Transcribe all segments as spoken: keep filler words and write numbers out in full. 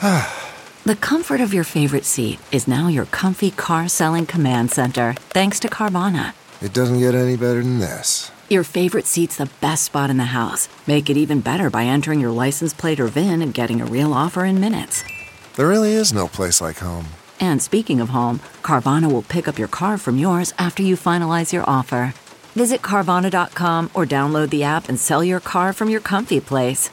The comfort of your favorite seat is now your comfy car selling command center, thanks to Carvana. It doesn't get any better than this. Your favorite seat's the best spot in the house. Make it even better by entering your license plate or V I N and getting a real offer in minutes. There really is no place like home. And speaking of home, Carvana will pick up your car from yours after you finalize your offer. Visit Carvana dot com or download the app and sell your car from your comfy place.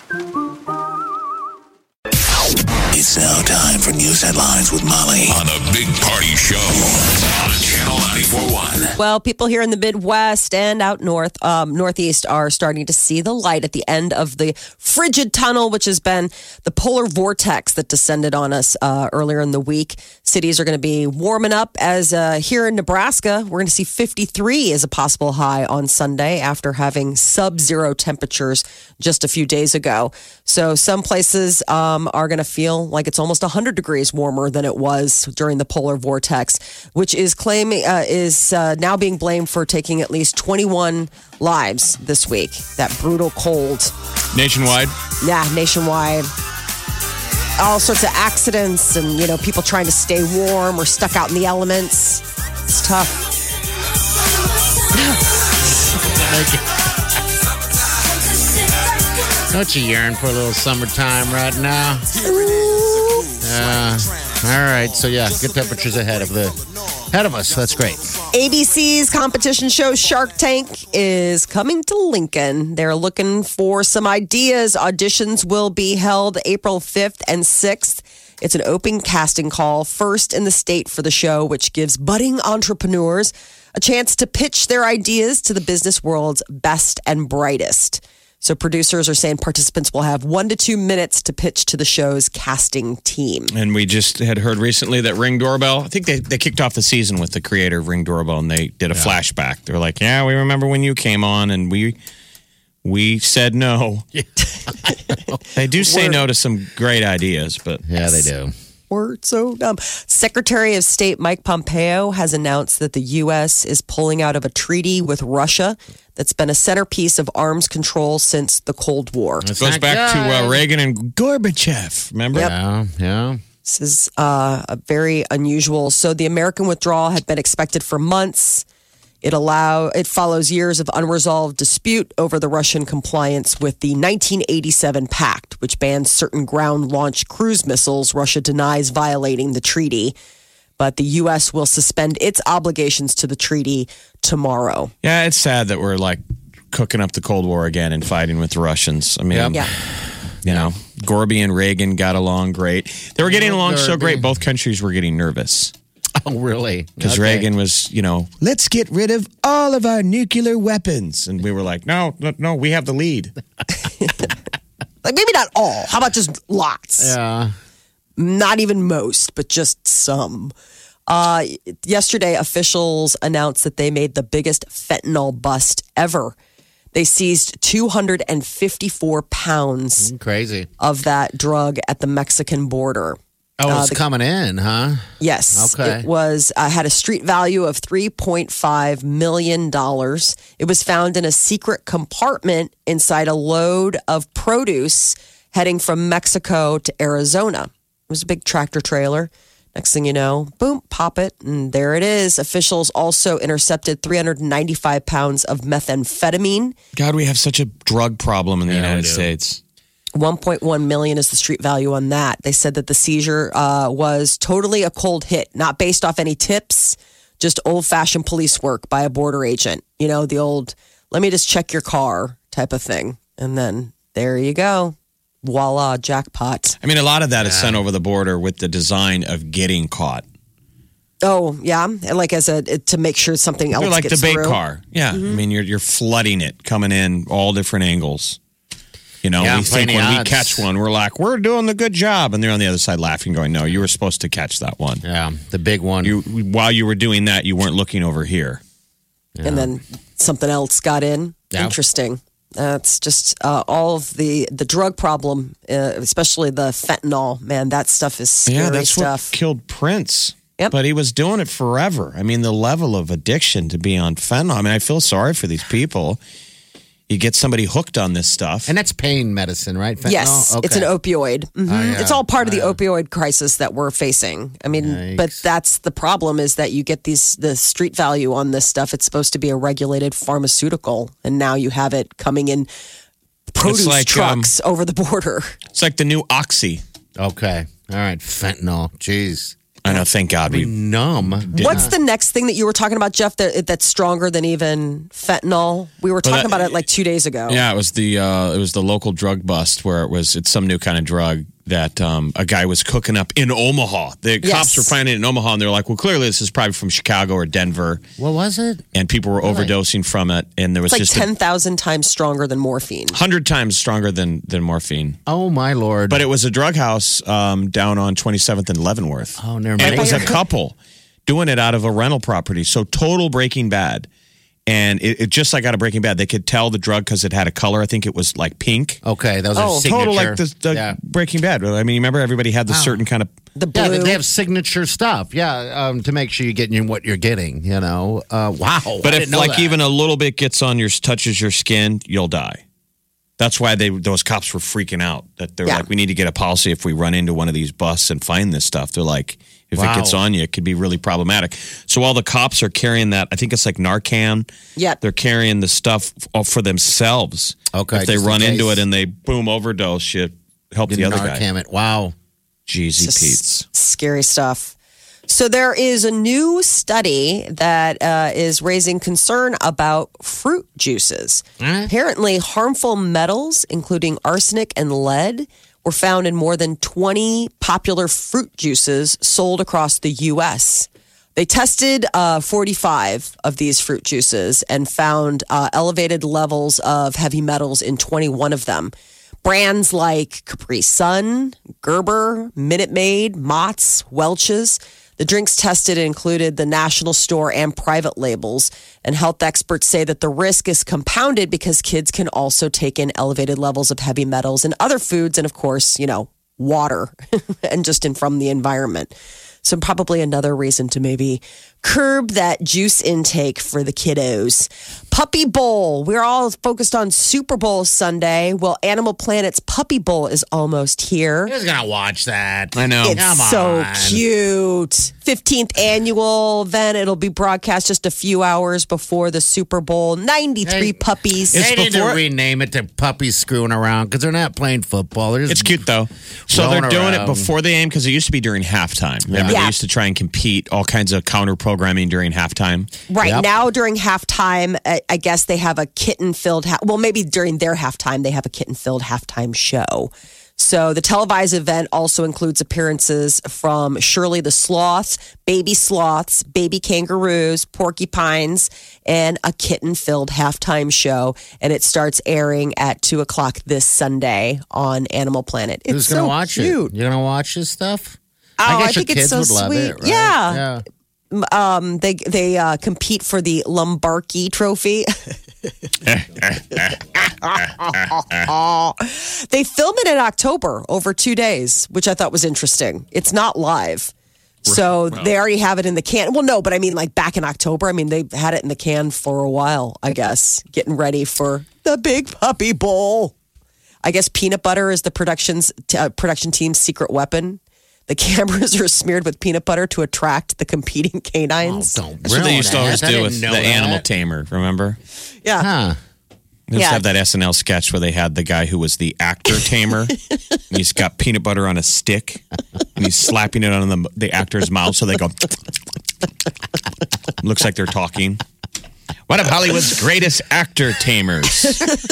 It's now time for news headlines with Molly on the Big Party Show on Channel ninety-four point one. Well, people here in the Midwest and out north, um, Northeast are starting to see the light at the end of the frigid tunnel, which has been the polar vortex that descended on us uh, earlier in the week. Cities are going to be warming up as uh, here in Nebraska, we're going to see fifty-three as a possible high on Sunday after having sub-zero temperatures just a few days ago. So some places um, are going to feel like it's almost one hundred degrees warmer than it was during the polar vortex, which is claiming uh, is uh, now being blamed for taking at least twenty-one lives this week. That brutal cold. Nationwide? Yeah, nationwide. All sorts of accidents and, you know, people trying to stay warm or stuck out in the elements. It's tough. Don't you yearn for a little summertime right now? Uh, all right, so yeah, good temperatures ahead of the ahead of us. That's great. A B C's competition show Shark Tank is coming to Lincoln. They're looking for some ideas. Auditions will be held April fifth and sixth. It's an open casting call, first in the state for the show, which gives budding entrepreneurs a chance to pitch their ideas to the business world's best and brightest. So producers are saying participants will have one to two minutes to pitch to the show's casting team. And we just had heard recently that Ring Doorbell, I think they, they kicked off the season with the creator of Ring Doorbell, and they did a yeah. flashback. They were like, yeah, we remember when you came on, and we we said no. Yeah. They do say We're, no to some great ideas, but... Yeah, they do. We're so dumb. Secretary of State Mike Pompeo has announced that the U S is pulling out of a treaty with Russia that's been a centerpiece of arms control since the Cold War. It goes back good. to uh, Reagan and Gorbachev, remember? Yep. Yeah, yeah. This is uh, a very unusual. So the American withdrawal had been expected for months. It allow it follows years of unresolved dispute over the Russian compliance with the nineteen eighty-seven pact, which bans certain ground-launched cruise missiles. Russia denies violating the treaty, but the U S will suspend its obligations to the treaty tomorrow. Yeah, it's sad that we're like cooking up the Cold War again and fighting with the Russians. I mean, Yep. yeah. you know, Gorby and Reagan got along great. They were getting along so great, both countries were getting nervous. Oh, really? Because Okay. Reagan was, you know, let's get rid of all of our nuclear weapons. And we were like, no, no, no, we have the lead. Like maybe not all. How about just lots? Yeah. Not even most, but just some. Uh, yesterday, officials announced that they made the biggest fentanyl bust ever. They seized two hundred fifty-four pounds Crazy. of that drug at the Mexican border. Oh, Uh, it's the- coming in, huh? Yes. Okay. It was uh, had a street value of three point five million dollars. It was found in a secret compartment inside a load of produce heading from Mexico to Arizona. It was a big tractor trailer. Next thing you know, boom, pop it, and there it is. Officials also intercepted three hundred ninety-five pounds of methamphetamine. God, we have such a drug problem in the Yeah, we United do. States. one point one million is the street value on that. They said that the seizure uh, was totally a cold hit, not based off any tips, just old-fashioned police work by a border agent. You know, the old, let me just check your car type of thing. And then there you go. Voila, jackpot. I mean, a lot of that is sent over the border with the design of getting caught. Oh, yeah. And like as a, to make sure something else They're like gets the bait through. car. Yeah. Mm-hmm. I mean, you're you're flooding it, coming in all different angles. You know, Yeah, we think plenty when we odds. catch one, we're like, we're doing the good job. And they're on the other side laughing, going, no, you were supposed to catch that one. Yeah, the big one. You While you were doing that, you weren't looking over here. And then something else got in. Yeah. Interesting. That's just uh, all of the, the drug problem, uh, especially the fentanyl. Man, that stuff is scary Yeah, that's stuff. what killed Prince. Yep. But he was doing it forever. I mean, the level of addiction to be on fentanyl. I mean, I feel sorry for these people. you get somebody hooked on this stuff. And that's pain medicine, right? Fentanyl? Yes, Okay. it's an opioid. Mhm. Oh, yeah. It's all part of the Oh, yeah. opioid crisis that we're facing. I mean, Yikes. but that's the problem is that you get these the street value on this stuff. It's supposed to be a regulated pharmaceutical, and now you have it coming in produce like, trucks over the border. It's like the new Oxy. Okay. All right. Fentanyl. Jeez. I know, thank God. We, Numb. What's the next thing that you were talking about, Jeff? That that's stronger than even fentanyl. We were talking that- about it like two days ago. yeah, it was the uh, it was the local drug bust where it was it's some new kind of drug that um, a guy was cooking up in Omaha. The Yes. cops were finding it in Omaha, and they're like, "Well, clearly this is probably from Chicago or Denver." What was it? And people were overdosing from it, and there was It's like just ten thousand times stronger than morphine. a hundred times stronger than than morphine. Oh, my Lord. But it was a drug house um, down on twenty-seventh and Leavenworth. Oh, never And mind. it was a couple doing it out of a rental property. So total Breaking Bad. And it, it just like out of Breaking Bad, they could tell the drug because it had a color. I think it was like pink. Okay, that was Oh, a signature. Total like the, the yeah. Breaking Bad. I mean, remember everybody had the certain kind of. The blue. Yeah, they- they have signature stuff. Yeah, um, to make sure you're getting what you're getting. You know, uh, wow. But I if didn't know like that. even a little bit gets on your touches your skin, you'll die. That's why they those cops were freaking out. That they're Yeah. like, we need to get a policy if we run into one of these busts and find this stuff. They're like, if Wow. it gets on you, it could be really problematic. So while the cops are carrying that, I think it's like Narcan. Yep. They're carrying the stuff f- for themselves. Okay, If they just in run into case. it and they boom overdose, you help the Didn't other guy. Narcan it. Wow. Jeezy Just Pete's. Scary stuff. So there is a new study that uh, is raising concern about fruit juices. Apparently, harmful metals, including arsenic and lead, were found in more than twenty popular fruit juices sold across the U S. They tested uh, forty-five of these fruit juices and found uh, elevated levels of heavy metals in twenty-one of them. Brands like Capri Sun, Gerber, Minute Maid, Mott's, Welch's. The drinks tested included the national store and private labels. And health experts say that the risk is compounded because kids can also take in elevated levels of heavy metals in other foods and, of course, you know, water and just in from the environment. So probably another reason to maybe curb that juice intake for the kiddos. Puppy Bowl. We're all focused on Super Bowl Sunday. Well, Animal Planet's Puppy Bowl is almost here. Who's gonna watch that? I know. It's Come so on. cute. fifteenth annual event. It'll be broadcast just a few hours before the Super Bowl. ninety-three Hey, puppies. They need before- to rename it to Puppies Screwing Around because they're not playing football. They're just It's cute though. So rolling they're doing around. it before the game because it used to be during halftime. Remember, Yeah. they used to try and compete all kinds of counter programming during halftime. Right Yep. now, during halftime, I, I guess they have a kitten-filled. Ha- well, maybe during their halftime, they have a kitten-filled halftime show. So the televised event also includes appearances from Shirley the Sloth, baby sloths, baby kangaroos, porcupines, and a kitten-filled halftime show. And it starts airing at two o'clock this Sunday on Animal Planet. It's Who's gonna so watch cute. it? You're gonna watch this stuff? Oh, I I guess your think it's kids so would love sweet. it, right? Yeah. yeah. Um, they they uh, compete for the Lombardi Trophy. They film it in October over two days, which I thought was interesting. It's not live. So they already have it in the can. Well, no, but I mean, like back in October. I mean, they had it in the can for a while, I guess, getting ready for the big puppy bowl. I guess peanut butter is the production's uh, production team's secret weapon. The cameras are smeared with peanut butter to attract the competing canines. Oh, don't That's what they ruin used to that. always I do didn't with the know that. animal tamer. Remember? Yeah. Huh. They used Yeah. to have that S N L sketch where they had the guy who was the actor tamer. And he's got peanut butter on a stick, and he's slapping it on the the actor's mouth, so they go. Looks like they're talking. One of Hollywood's greatest actor tamers.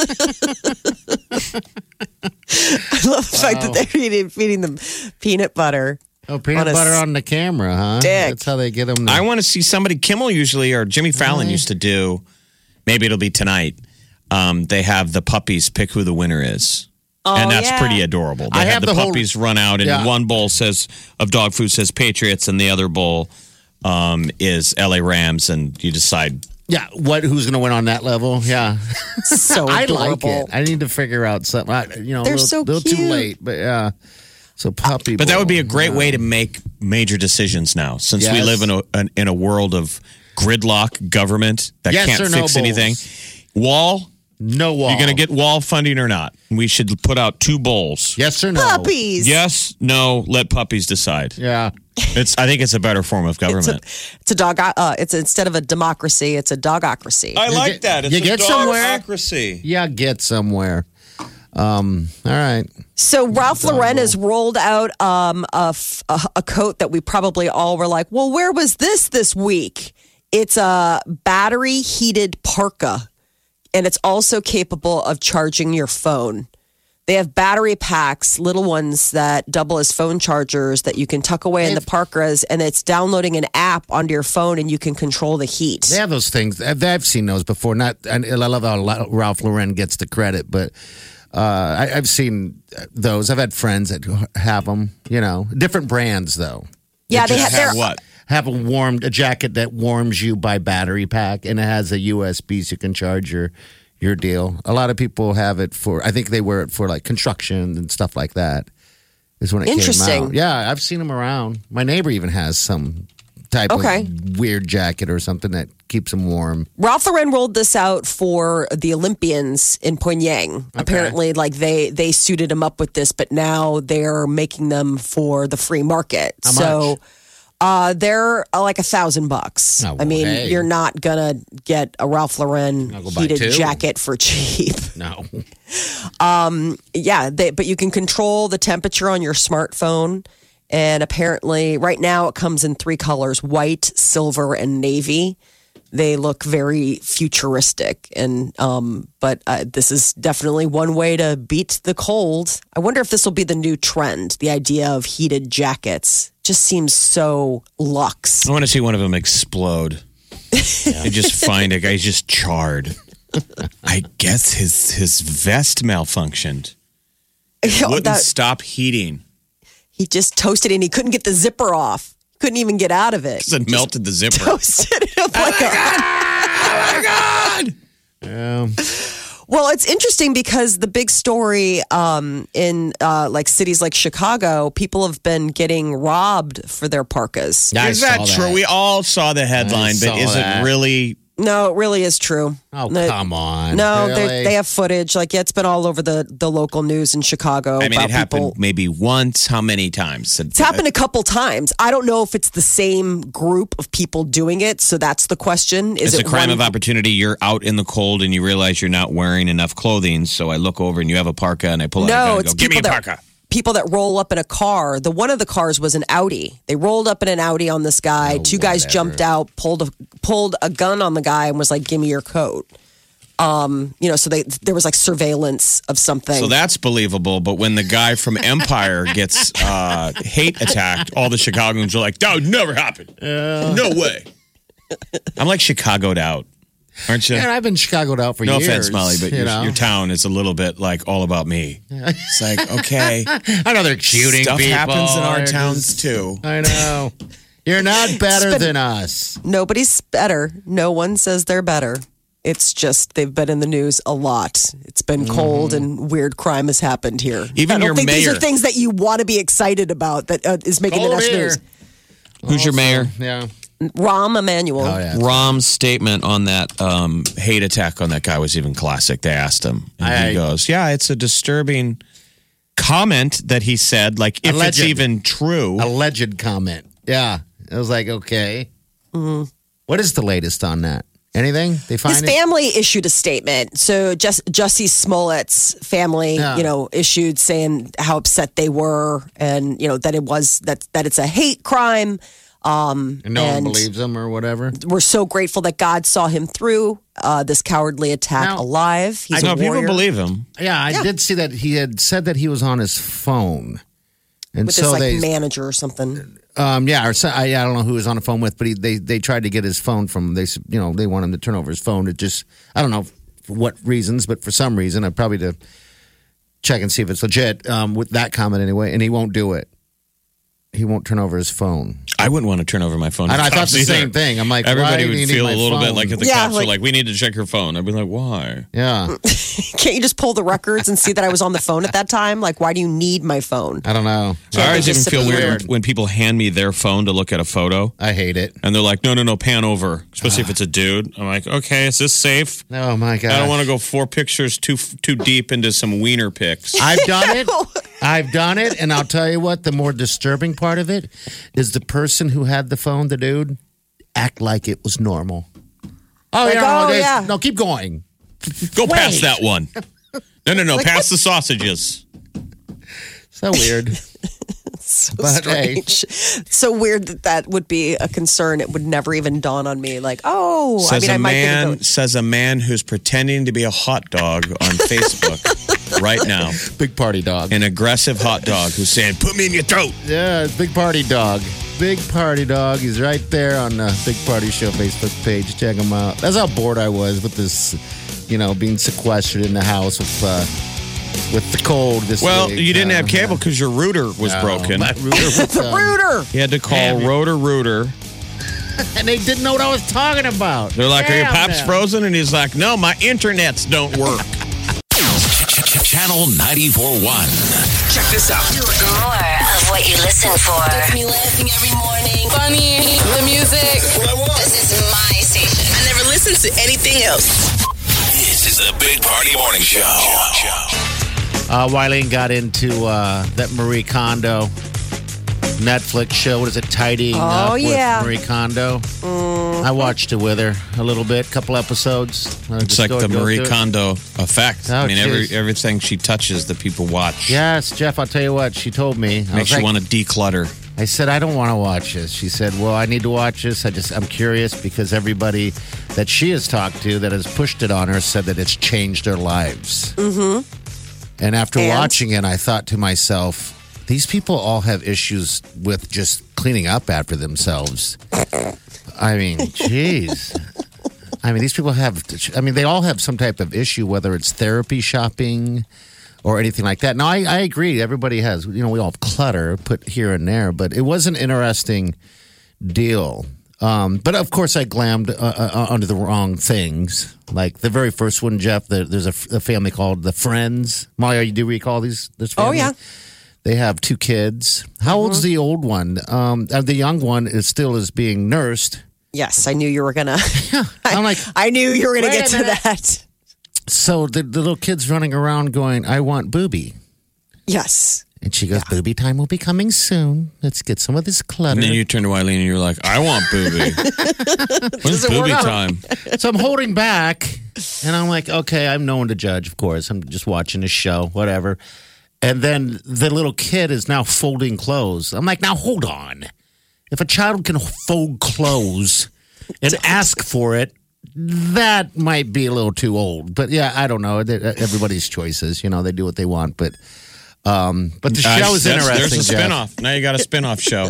I love the fact that they're feeding, feeding them peanut butter. Oh, peanut On a butter on the camera, huh? stick. That's how they get them. To, I want to see somebody. Kimmel usually or Jimmy Fallon used to do. Maybe it'll be tonight. Um, they have the puppies pick who the winner is. and that's yeah. pretty adorable. They I have, have the, the whole- puppies run out, and Yeah. one bowl says of dog food says Patriots, and the other bowl um, is L A Rams, and you decide. yeah, what? Who's going to win on that level? Yeah, So I adorable. like it. I need to figure out something. I, you know, They're a little, so little too cute. late, but yeah. So puppy, But that would be a bowl. great way to make major decisions now, since we Yes. live in a an, in a world of gridlock government that Yes can't or no fix anything. bowls? Wall No wall. You're going to get wall funding or not? We should put out two bowls. Yes or no? Puppies. Yes, no, let puppies decide. Yeah. It's. I think it's a better form of government. It's a, it's a dog. Uh, it's instead of a democracy, it's a dogocracy. I like get- that. It's you a get somewhere. democracy. Yeah, get somewhere. Um, all right. So Ralph Lauren has rolled out um, a, f- a, a coat that we probably all were like, well, where was this this week? It's a battery heated parka, and it's also capable of charging your phone. They have battery packs, little ones that double as phone chargers that you can tuck away in the parkas, and it's downloading an app onto your phone, and you can control the heat. They have those things. I've, I've seen those before. Not, and I love how Ralph Lauren gets the credit, but uh, I, I've seen those. I've had friends that have them. You know, different brands though. Yeah, they Just have have their what? Have a warmed a jacket that warms you by battery pack, and it has a U S B so you can charge your your deal. A lot of people have it for. I think they wear it for like construction and stuff like that. Is when it Interesting. came out. Yeah, I've seen them around. My neighbor even has some type Okay. of weird jacket or something that keeps him warm. Ralph Lauren rolled this out for the Olympians in Pyongyang. Apparently, like they they suited them up with this, but now they're making them for the free market. How so much? Uh, they're uh, like a thousand bucks. Oh, I mean, hey. you're not gonna get a Ralph Lauren I'll go buy heated two. jacket for cheap. No. Yeah, they, but you can control the temperature on your smartphone. And apparently, right now it comes in three colors: white, silver, and navy. They look very futuristic, and um, but uh, this is definitely one way to beat the cold. I wonder if this will be the new trend. The idea of heated jackets just seems so luxe. I want to see one of them explode. I just find a guy's just charred. I guess his his vest malfunctioned. Wouldn't That- stop heating. he just toasted it, and he couldn't get the zipper off. Couldn't even get out of it. Because it melted the zipper. Toasted it up like a. Oh my God! Yeah. Well, it's interesting because the big story um, in uh, like cities like Chicago, people have been getting robbed for their parkas. I Is that saw true? We all saw the headline, I but saw is that. it really? No, it really is true. Oh, No, come on. No, Really? they they have footage. Like, yeah, it's been all over the, the local news in Chicago. I mean, about it happened people. maybe once. How many times? It's happened a couple times. I don't know if it's the same group of people doing it. So that's the question. Is It's it a crime one- of opportunity. You're out in the cold and you realize you're not wearing enough clothing. So I look over and you have a parka and I pull out a gun No, and it's go, give me a people that parka. people that roll up in a car. The one of the cars was an Audi. They rolled up in an Audi on this guy. Oh, Two guys whatever. jumped out, pulled a pulled a gun on the guy, and was like, "Give me your coat." Um, you know, so they there was like surveillance of something. So that's believable. But when the guy from Empire gets uh, hate attacked, all the Chicagoans are like, that would never happen. No way. I'm like Chicagoed out. Aren't you? And I've been Chicagoed out for No years. offense, Molly, but you your, know? your town is a little bit like all about me. It's like, okay. I know they're shooting Stuff people. happens in our They're towns just- too. I know. You're not better been- than us. Nobody's better. No one says they're better. It's just they've been in the news a lot. It's been cold and weird crime has happened here. Even I don't your think these mayor- are things that you want to be excited about that uh, is making Cold the next here. news. Who's your mayor? Yeah. Rahm Emanuel. Oh, yeah. Rahm's statement on that um, hate attack on that guy was even classic. They asked him, and I- he goes, "Yeah, it's a disturbing comment that he said. Like, if Alleged. it's even true, Alleged comment. Yeah. It was like, okay. Mm-hmm. What is the latest on that? Anything? They find His it? family issued a statement. So just Jussie Smollett's family, Yeah. you know, issued saying how upset they were, and you know that it was that that it's a hate crime. Um, And no and one believes them or whatever. we're so grateful that God saw him through uh, this cowardly attack Now, alive. He's I a know people warrior. believe him. Yeah, I Yeah. did see that he had said that he was on his phone. And with so this like they, manager or something. um, yeah, or so, I, I don't know who he was on the phone with, but he, they they tried to get his phone from. They s- you know they want him to turn over his phone. It just I don't know for what reasons, but for some reason, I probably to check and see if it's legit um, with that comment anyway. And he won't do it. he won't turn over his phone. I wouldn't want to turn over my phone. And I thought Cops the either. same thing. I'm like, everybody why do would you need feel my a little phone? bit like if the Yeah, cops like- were like, "We need to check your phone." I'd be like, "Why?" Yeah, Can't you just pull the records and see that I was on the phone at that time? Like, why do you need my phone? I don't know. I always even just feel disappear. weird when people hand me their phone to look at a photo, I hate it. and they're like, "No, no, no, pan over." Especially if it's a dude. I'm like, "Okay, is this safe?" Oh my god! I don't want to go four pictures too too deep into some wiener pics. I've done it. I've done it, and I'll tell you what. The more disturbing part of it is the person who had the phone, the dude, act like it was normal. Oh, Like, yeah, oh, no, yeah. no, keep going. Go past that one. No, no, no, past the sausages. So weird. So But, hey. strange. So weird that that would be a concern. It would never even dawn on me. Like, oh, I Says mean, I a might man think of says a man who's pretending to be a hot dog on Facebook right now. Big party dog. An aggressive hot dog who's saying, "Put me in your throat." Yeah, it's Big Party Dog. Big Party Dog. He's right there on the Big Party Show Facebook page. Check him out. That's how bored I was with this, you know, being sequestered in the house with uh, with the cold this Well, week. you didn't Uh, have cable because your router was no, broken. My router was, the um, Rooter. You had to call Damn it. Rotor Rooter. and they didn't know what I was talking about. They're like, "Are your Damn pops them. frozen?" And he's like, "No, my internets don't work." Channel ninety-four point one. Check this out. More of what you listen for. Gets me laughing every morning. Funny, the music. This is my station. I never listen to anything else. This is the Big Party Morning Show. Uh, Wileen got into uh, that Marie Kondo Netflix show. What is it? Tidying Oh, Up yeah. with Marie Kondo. I watched it with her a little bit, couple episodes. Uh, It's just like go- the go Marie through it. Kondo effect. Oh, I mean, every geez. everything she touches, the people watch. Yes, Jeff, I'll tell you what, she told me. I Makes was you like- want to declutter. I said, I don't want to watch this. She said, well, I need to watch this. I just, I'm curious because everybody that she has talked to that has pushed it on her said that it's changed their lives. Mm-hmm. And after And? watching it, I thought to myself, these people all have issues with just cleaning up after themselves. I mean, jeez. I mean, these people have, I mean, they all have some type of issue, whether it's therapy shopping or anything like that. Now, I, I agree. Everybody has, you know, we all have clutter put here and there, but it was an interesting deal. Um, but of course, I glammed uh, uh, under the wrong things. Like the very first one, Jeff, the, there's a, a family called the Friends. Molly, do you recall these? This Oh, family? yeah. They have two kids. How old's the old one? Um, uh, the young one is still is being nursed. Yes, I knew you were gonna. I'm like, I knew you were gonna Wait a get to minute. that. so the, the little kid's running around going, I want booby. Yes. And she goes, booby time will be coming soon. Let's get some of this clutter. And then you turn to Eileen and you're like, "I want booby." When's it work booby out? time? So I'm holding back, and I'm like, okay, I'm no one to judge, of course. I'm just watching a show, whatever. And then the little kid is now folding clothes. I'm like, now hold on. If a child can fold clothes and ask for it, that might be a little too old. But yeah, I don't know. Everybody's choices, you know, they do what they want. But um, but the Uh, show is that's- interesting. There's a Jeff. spinoff. Now you got a spinoff show.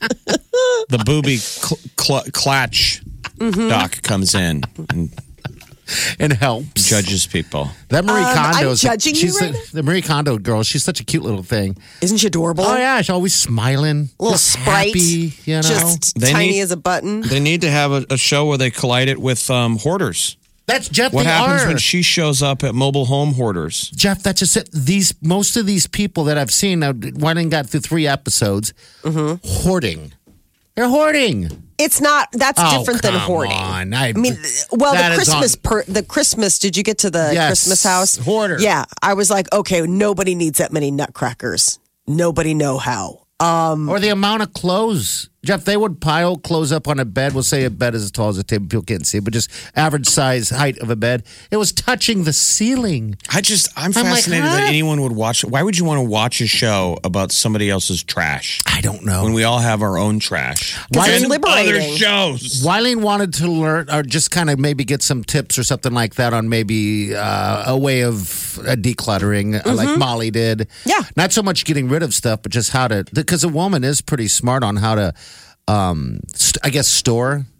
The booby cl- cl- clatch Mm-hmm. doc comes in and and helps. judges people. That Marie Um, Kondo. I'm is- judging you she's right the, now? the Marie Kondo girl. She's such a cute little thing. Isn't she adorable? Oh yeah, she's always smiling, Little just sprite. happy, you know. Just They tiny need- as a button. They need to have a, a show where they collide it with um, hoarders. That's Jeff. What they happens are. when she shows up at mobile home hoarders? Jeff, that's just it. These most of these people that I've seen. Now, Wyden got through three episodes. Mm-hmm. Hoarding. They're hoarding. It's not. That's Oh, different than come hoarding. on. I- I mean, well, that the is Christmas, on- per, the Christmas. Did you get to the Yes. Christmas house? Hoarder. Yeah, I was like, okay, nobody needs that many nutcrackers. Nobody know how. Um, Or the amount of clothes. Jeff, they would pile clothes up on a bed. We'll say a bed is as tall as a table. People can't see it, but just average size height of a bed. It was touching the ceiling. I just, I'm I'm like, fascinated huh? that anyone would watch it. Why would you want to watch a show about somebody else's trash I don't know. when we all have our own trash? Because it's And liberating. Other shows. Wyleen wanted to learn or just kind of maybe get some tips or something like that on maybe uh, a way of uh, decluttering uh, like Molly did. Yeah. Not so much getting rid of stuff, but just how to, because a woman is pretty smart on how to, um, st- I guess, store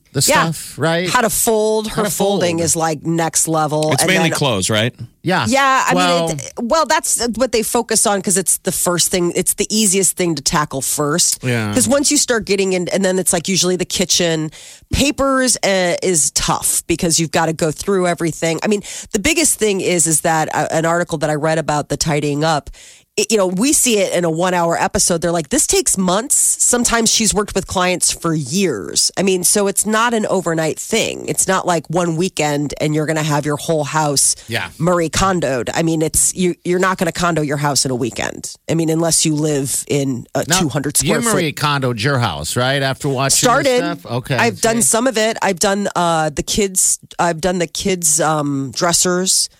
the Yeah. stuff, right? How to fold. Her How to fold. folding is like next level. It's And mainly then- clothes, right? yeah. Yeah, I well, mean, it, well, that's what they focus on because it's the first thing, it's the easiest thing to tackle first. Yeah. Because once you start getting in, and then it's like usually the kitchen, papers uh, is tough because you've got to go through everything. I mean, the biggest thing is is that uh, an article that I read about the tidying up. It, you know, we see it in a one hour episode. They're like, this takes months. Sometimes she's worked with clients for years. I mean, so it's not an overnight thing. It's not like one weekend and you're going to have your whole house Yeah. Marie Kondoed. I mean, it's you, you're not going to condo your house in a weekend. I mean, unless you live in a now, two hundred square you foot. Marie Kondoed your house, right? After watching this Started. stuff? Okay. I've done see. some of it. I've done uh, the kids. I've done the kids' um, dressers.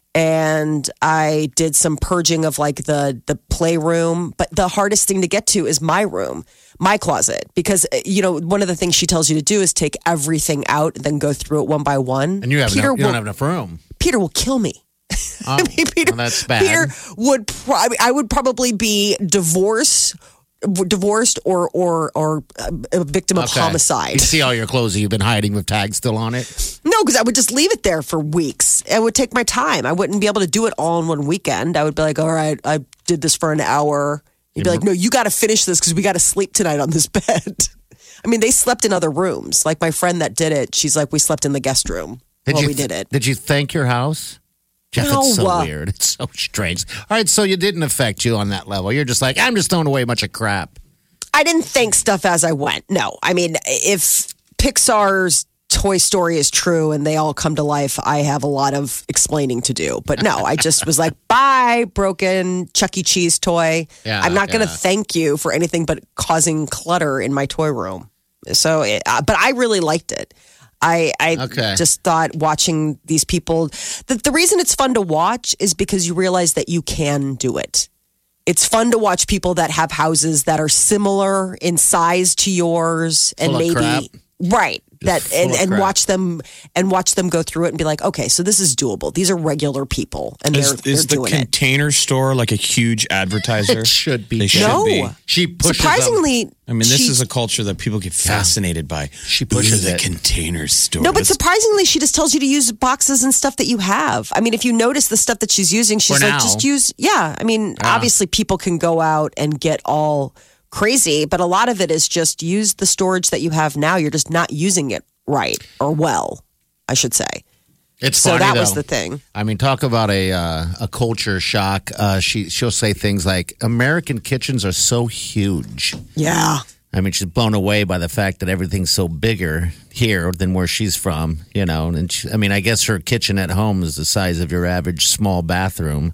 And I did some purging of like the the playroom, but the hardest thing to get to is my room, my closet, because you know one of the things she tells you to do is take everything out and then go through it one by one. And you, have Peter no, you will, don't have enough room. Peter will kill me. Oh, I mean, Peter, well, that's bad. Peter would. Pro- I would probably be divorced, divorced, or or or a victim of Okay. homicide. You see all your clothes that you've been hiding with tags still on it? No, because I would just leave it there for weeks. It would take my time. I wouldn't be able to do it all in one weekend. I would be like, all right, I did this for an hour. You'd be like, no, you got to finish this because we got to sleep tonight on this bed. I mean, they slept in other rooms. Like my friend that did it, she's like, we slept in the guest room while you we did it. Did you thank your house? Jeff, it's so No. weird. It's so strange. All right, so you didn't affect you on that level. You're just like, I'm just throwing away a bunch of crap. I didn't think stuff as I went. No, I mean, if Pixar's Toy Story is true and they all come to life, I have a lot of explaining to do. But no, I just was like, bye, broken Chuck E. Cheese toy. Yeah, I'm not going to yeah. thank you for anything but causing clutter in my toy room. So, it, uh, but I really liked it. I, I Okay. just thought watching these people, the, the reason it's fun to watch is because you realize that you can do it. It's fun to watch people that have houses that are similar in size to yours and Full of maybe crap. right that full and, of and crap. watch them and watch them go through it and be like, okay, so this is doable. These are regular people and Is, they're, is they're the doing it. Container Store like a huge advertiser? It should be. They should No. be. She pushes Surprisingly, them. I mean, this she- is a culture that people get fascinated by. She pushes Ooh, the it. Container Store. No, but This- surprisingly, she just tells you to use boxes and stuff that you have. I mean, if you notice the stuff that she's using, she's For like, now. just use, yeah. I mean, Yeah. obviously, people can go out and get all crazy, but a lot of it is just use the storage that you have now. You're just not using it right or well, I should say. It's So funny, that was though. the thing. I mean, talk about a uh, a culture shock. Uh, she she'll say things like, "American kitchens are so huge." Yeah. I mean, she's blown away by the fact that everything's so bigger here than where she's from. You know, and she, I mean, I guess her kitchen at home is the size of your average small bathroom.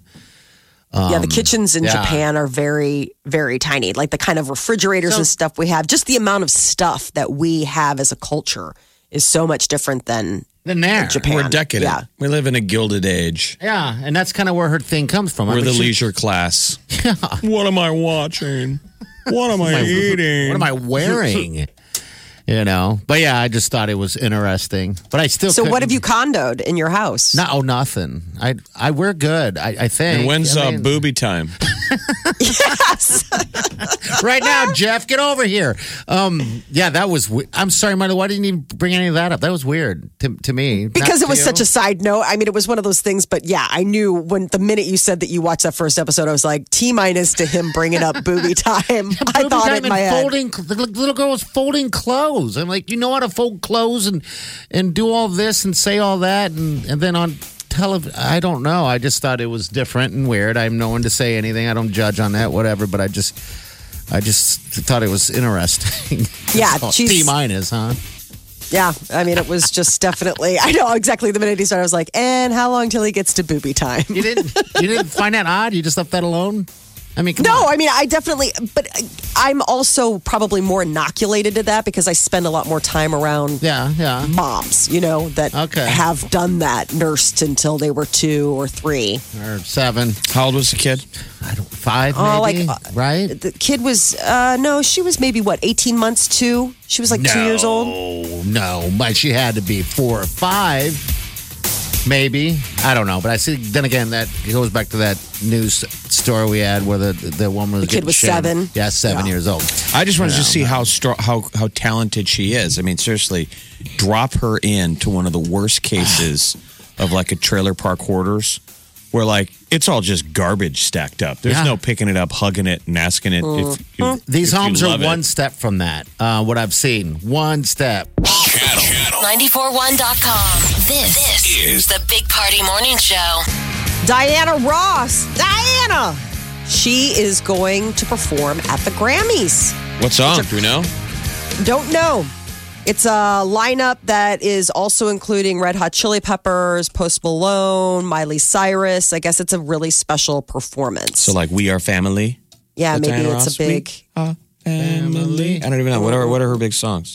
yeah, the kitchens in Um, yeah. Japan are very, very tiny. Like the kind of refrigerators So- and stuff we have, just the amount of stuff that we have as a culture is so much different than Then there, Japan. We're decadent. Yeah. We live in a gilded age. yeah, and that's kind of where her thing comes from. I We're mean, the she- leisure class. What am I watching? What am I eating? What am I wearing? You know, but yeah, I just thought it was interesting. But I still. So, what couldn't- have you condoed in your house? No, oh, nothing. I, I, we're good. I, I think. And when's I uh, mean, booby time? Yes. right now, Jeff? Get over here. Um, yeah, that was. we- I'm sorry, Marta. Why didn't you bring any of that up? That was weird to, to me. Because Not it was to such you. a side note. I mean, it was one of those things, but yeah, I knew when the minute you said that you watched that first episode, I was like, T minus to him bringing up booby time. I Booby thought time it in my and head. folding, the little girl was folding clothes. I'm like, you know how to fold clothes and and do all this and say all that and and then on television. I don't know. I just thought it was different and weird. I'm no one to say anything. I don't judge on that, whatever. But I just, I just thought it was interesting. Yeah, So, she's- T minus, huh? Yeah, I mean, it was just definitely, I know exactly the minute he started, I was like, and how long till he gets to booby time? You didn't, you didn't find that odd. You just left that alone. I mean, come No, on. I mean, I definitely, but I'm also probably more inoculated to that because I spend a lot more time around Yeah, yeah. moms, you know, that Okay. have done that, nursed until they were two or three. Or seven. How old was the kid? I don't. Five. Oh, maybe, like, uh, right. The kid was, uh, no, she was maybe what, eighteen months, two? She was like two years old. Oh no, but she had to be four or five. Maybe. I don't know. But I see, then again, that goes back to that news story we had where the, the woman was The kid getting was shamed. seven. Yeah, seven Yeah. years old. I just wanted to see how strong, how how talented she is. I mean, seriously, drop her into one of the worst cases of like a trailer park hoarders, where like it's all just garbage stacked up. There's Yeah. no picking it up, hugging it, and asking it if you, These if you homes are love it. one step from that. Uh, what I've seen, one step. Channel nine four one dot com. This, this is the Big Party Morning Show. Diana Ross. Diana. She is going to perform at the Grammys. What song? Do we know? Don't know. It's a lineup that is also including Red Hot Chili Peppers, Post Malone, Miley Cyrus. I guess it's a really special performance. So like, We Are Family. yeah, With maybe Diana it's Ross? a big. We Are Family. I don't even know. What are what are her big songs?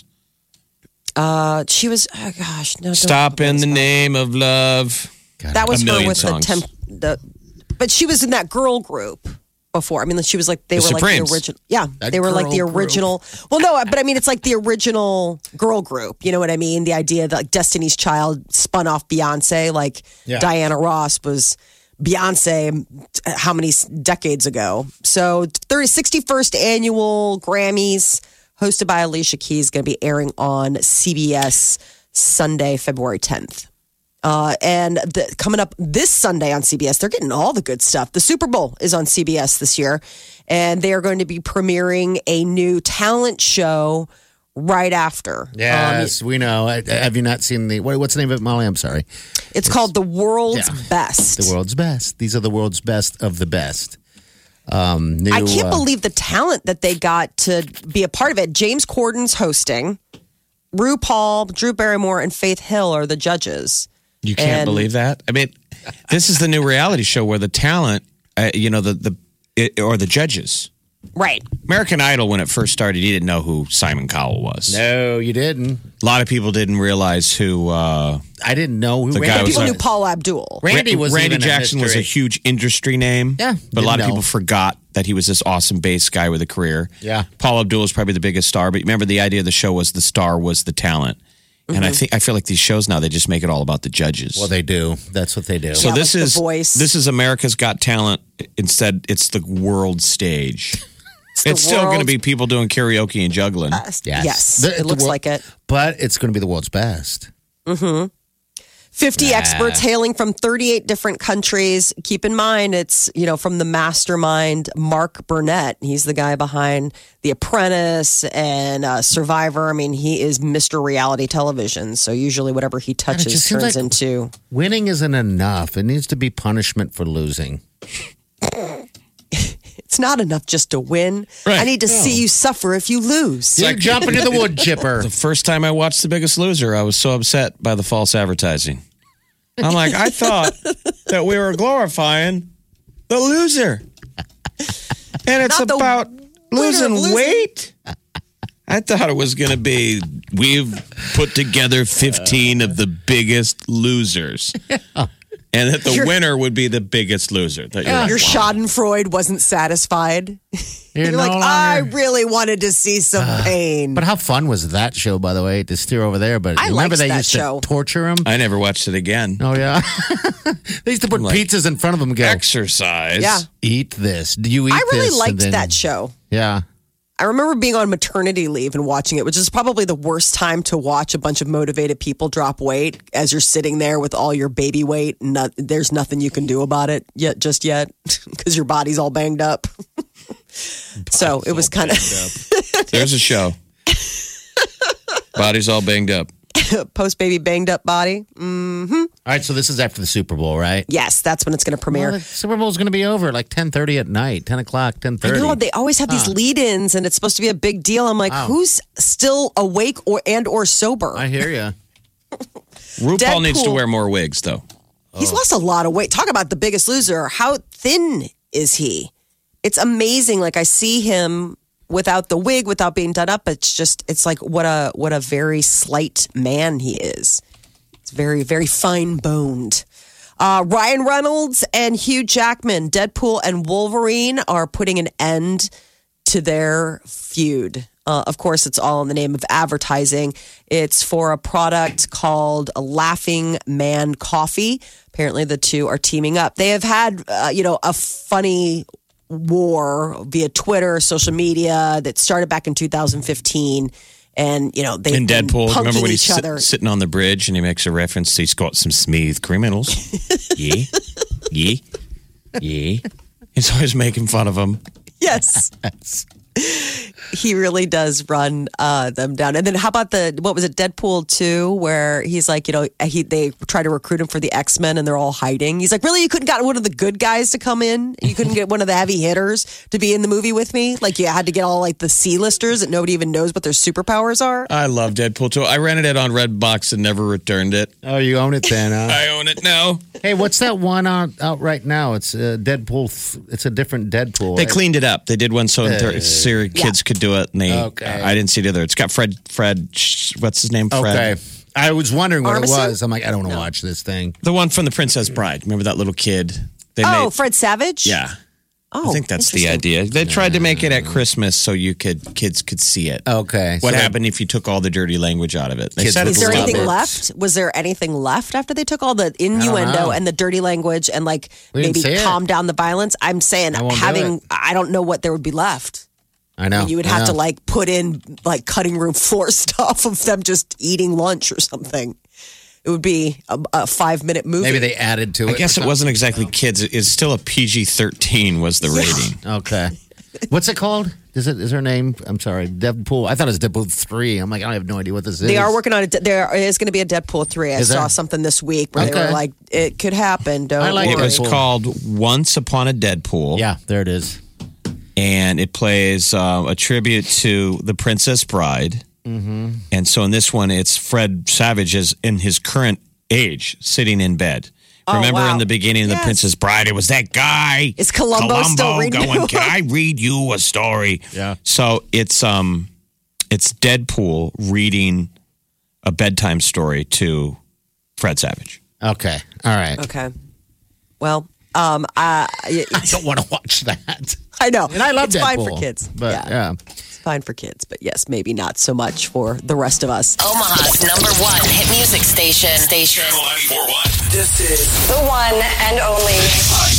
Uh, she was. Oh gosh, no. don't Stop know in what the it's name of love. called. That was A her million with songs. the temp. The, but she was in that girl group before. I mean, she was like they The were like Supremes. the original. Yeah, That they were like the girl group. original. Well, no, but I mean, it's like the original girl group. You know what I mean? The idea that like Destiny's Child spun off Beyonce, like Yeah. Diana Ross was Beyonce how many decades ago? So thirty, sixty-first annual Grammys hosted by Alicia Keys going to be airing on C B S Sunday, February tenth. Uh, and the, coming up this Sunday on C B S, they're getting all the good stuff. The Super Bowl is on C B S this year, and they are going to be premiering a new talent show right after. Yes, Um, we know. I- Have you not seen the, what, what's the name of it, Molly? I'm sorry. it's called The World's Yeah. Best. The world's best. These are the world's best of the best. Um, new, I can't uh, believe the talent that they got to be a part of it. James Corden's hosting. RuPaul, Drew Barrymore, and Faith Hill are the judges. You can't And- believe that. I mean, this is the new reality show where the talent, uh, you know, the the it, or the judges. Right. American Idol, when it first started, you didn't know who Simon Cowell was. No, you didn't. A lot of people didn't realize who uh, I didn't know who The Randy guy was People like- knew Paul Abdul. Randy was Randy even a Jackson was a mystery. huge industry name. Yeah, but a lot didn't of people know. forgot that he was this awesome bass guy with a career. Yeah. Paul Abdul was probably the biggest star, but remember the idea of the show was the star was the talent. And I think I feel like these shows now they just make it all about the judges. Well, they do. That's what they do. so Yeah, this like The is Voice. this is America's Got Talent. Instead, it's the world stage. It's, the still going to world's be people doing karaoke and juggling. Yes. Yes, The- it the looks wor- like it. But it's going to be the world's best. fifty experts hailing from thirty-eight different countries. Keep in mind, it's, you know, from the mastermind, Mark Burnett. He's the guy behind The Apprentice and uh, Survivor. I mean, he is Mister Reality Television. So usually whatever he touches just seems turns like- into. Winning isn't enough. It needs to be punishment for losing. It's not enough just to win. Right. I need to see you suffer if you lose. You jump into the wood chipper. The first time I watched The Biggest Loser, I was so upset by the false advertising. I'm like, I thought that we were glorifying the loser. And it's Not the about losing, losing. weight. I thought it was going to be, we've put together fifteen of the biggest losers. And that the You're- winner would be the biggest loser. That you're like, Your wow. Schadenfreude wasn't satisfied. You're, no like, longer- I really wanted to see some pain. But how fun was that show, by the way, to steer over there? But I remember liked they that used show. to torture him? I never watched it again. Oh, yeah. They used to put Like, pizzas in front of him and go, Exercise. Yeah. eat this. Do you eat I really this? And liked then- that show. Yeah. I remember being on maternity leave and watching it, which is probably the worst time to watch a bunch of motivated people drop weight as you're sitting there with all your baby weight. And not, there's nothing you can do about it yet, just yet, because your body's all banged up. So it was kind of There's a show. Body's all banged up. post baby banged up body. All right, so this is after the Super Bowl, right? Yes, that's when it's going to premiere. Well, the Super Bowl is going to be over at like ten thirty at night, ten o'clock, ten I thirty. know they always have these lead-ins, and it's supposed to be a big deal. I'm like, Wow. who's still awake or and or sober? I hear you. RuPaul Deadpool. needs to wear more wigs, though. He's lost a lot of weight. Talk about the biggest loser. How thin is he? It's amazing. Like I see him without the wig, without being done up. It's just, it's like what a what a very slight man he is. It's very, very fine boned. Uh, Ryan Reynolds and Hugh Jackman, Deadpool and Wolverine, are putting an end to their feud. Uh, of course, it's all in the name of advertising. It's for a product called Laughing Man Coffee. Apparently, the two are teaming up. They have had, uh, you know, a funny war via Twitter, social media that started back in two thousand fifteen. And, you know, they in Deadpool, remember when he's each sit, other. sitting on the bridge and he makes a reference to he's got some smooth criminals. yeah. Yeah. Yeah. He's always making fun of them. Yes. He really does run uh, them down. And then how about the, what was it, Deadpool two, where he's like, you know, he they try to recruit him for the X-Men and they're all hiding. He's like, really? You couldn't get one of the good guys to come in? You couldn't get one of the heavy hitters to be in the movie with me? Like you had to get all like the C-listers that nobody even knows what their superpowers are? I love Deadpool two. I rented it on Redbox and never returned it. Oh, you own it then, huh? I own it now. Hey, what's that one out, out right now? It's uh, Deadpool. Th- it's a different Deadpool. They cleaned it up. They did one so uh, Siri kids yeah. could do it. And they, okay. I didn't see the other. It's got Fred, Fred, what's his name? Fred. Okay. I was wondering what Armisen? it was. I'm like, I don't want to no. watch this thing. The one from The Princess Bride. Remember that little kid? They oh, made, Fred Savage? Yeah. Oh, I think that's the idea. They tried to make it at Christmas so you could kids could see it. Okay. What so happened if you took all the dirty language out of it? They Kids said would Is there it's love anything it. left? Was there anything left after they took all the know. innuendo and the dirty language and like We didn't maybe see it. calm down the violence? I'm saying I won't do having, it. I don't know what there would be left. I know. You would I have to know. like put in like cutting room floor stuff of them just eating lunch or something. It would be a, a five minute movie. Maybe they added to it. I guess it wasn't exactly kids. It's still a P G thirteen was the rating. Okay. What's it called? Is it is her name? I'm sorry, Deadpool. I thought it was Deadpool three. I'm like, I have no idea what this is. They are working on it. There is going to be a Deadpool three. I Is saw there? something this week where they Okay. were like, it could happen. Don't I like It worry. was Deadpool. called Once Upon a Deadpool. Yeah, there it is. And it plays uh, a tribute to The Princess Bride. Mm-hmm. And so in this one, it's Fred Savage is in his current age, sitting in bed. Oh, Remember wow. in the beginning of Yes. The Princess Bride, it was that guy. Is Columbo still reading going, it? can I read you a story? Yeah. So it's um, it's Deadpool reading a bedtime story to Fred Savage. Okay. All right. Okay. Well, um, I, I don't want to watch that. I know. And I love it's Deadpool. fine for kids. But yeah. It's fine for kids. But yes, maybe not so much for the rest of us. Omaha's number one hit music station. Station. Channel ninety-four point one. This is the one and only